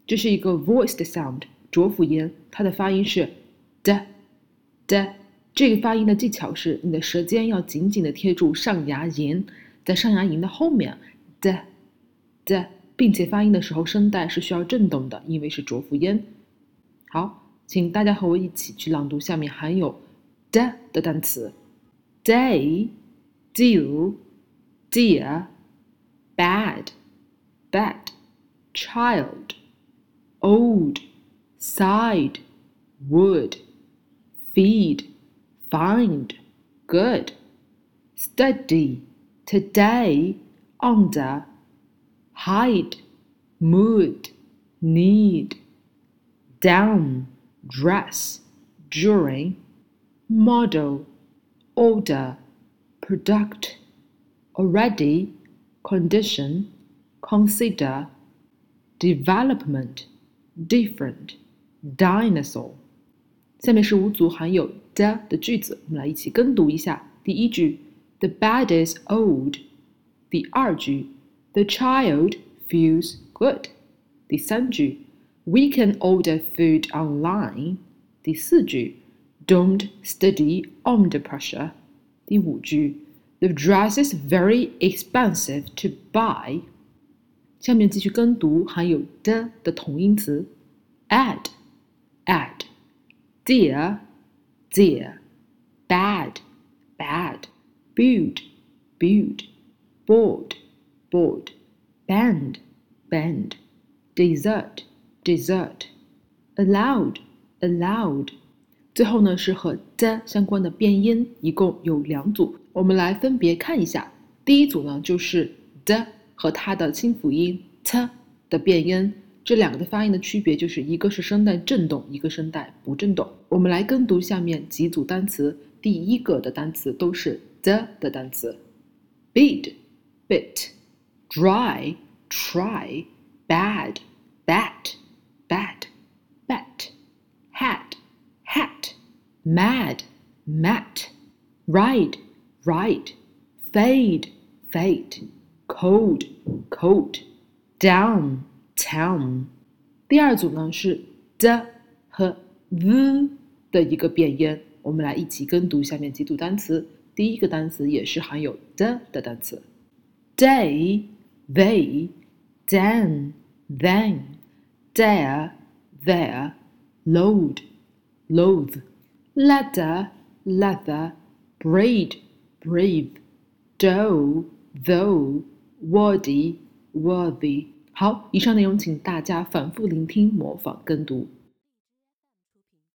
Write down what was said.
这是一个 voiced sound 浊辅音，它的发音是 d。这个发音的技巧是你的舌尖要紧紧的贴住上牙龈，在上牙龈的后面 d， 并且发音的时候声带是需要震动的，因为是浊辅音。好，请大家和我一起去朗读下面含有 d 的单词 day, deal, dear, bad, child, old, side, would, feed, find, good, study, today, under, hide, mood, need, down, dress, during, model, order, product, already, condition, consider, development, different, dinosaur。 下面是5组含有 的 的句子，我们来一起跟读一下。第一句 The bed is old。 第二句 The child feels good。 第三句 We can order food online。 第四句 Don't study under pressure。 第五句 The dress is very expensive to buy。 下面继续跟读含有的同音词 add, dear, bad, build, board, bend, dessert, allowed。 最后呢是和的相关的变音，一共有2组，我们来分别看一下。第一组呢就是的和它的清辅音 t 的变音，这2个的发音的区别就是一个是声带震动，一个声带不震动。我们来跟读下面几组单词，第一个的单词都是的单词 bid, bit, dry, try, bad, bat, bet, hat, mad, mat, ride, fade, fate, cold, coat, down, town。 第二组呢是的和 the 的一个变音，我们来一起跟读下面几组单词。第一个单词也是含有的单词 day, they, then, dare, there, load, loathe, leather, leather, braid, brave, dough, though, worthy, worthy。 好，以上内容请大家反复聆听、模仿跟读。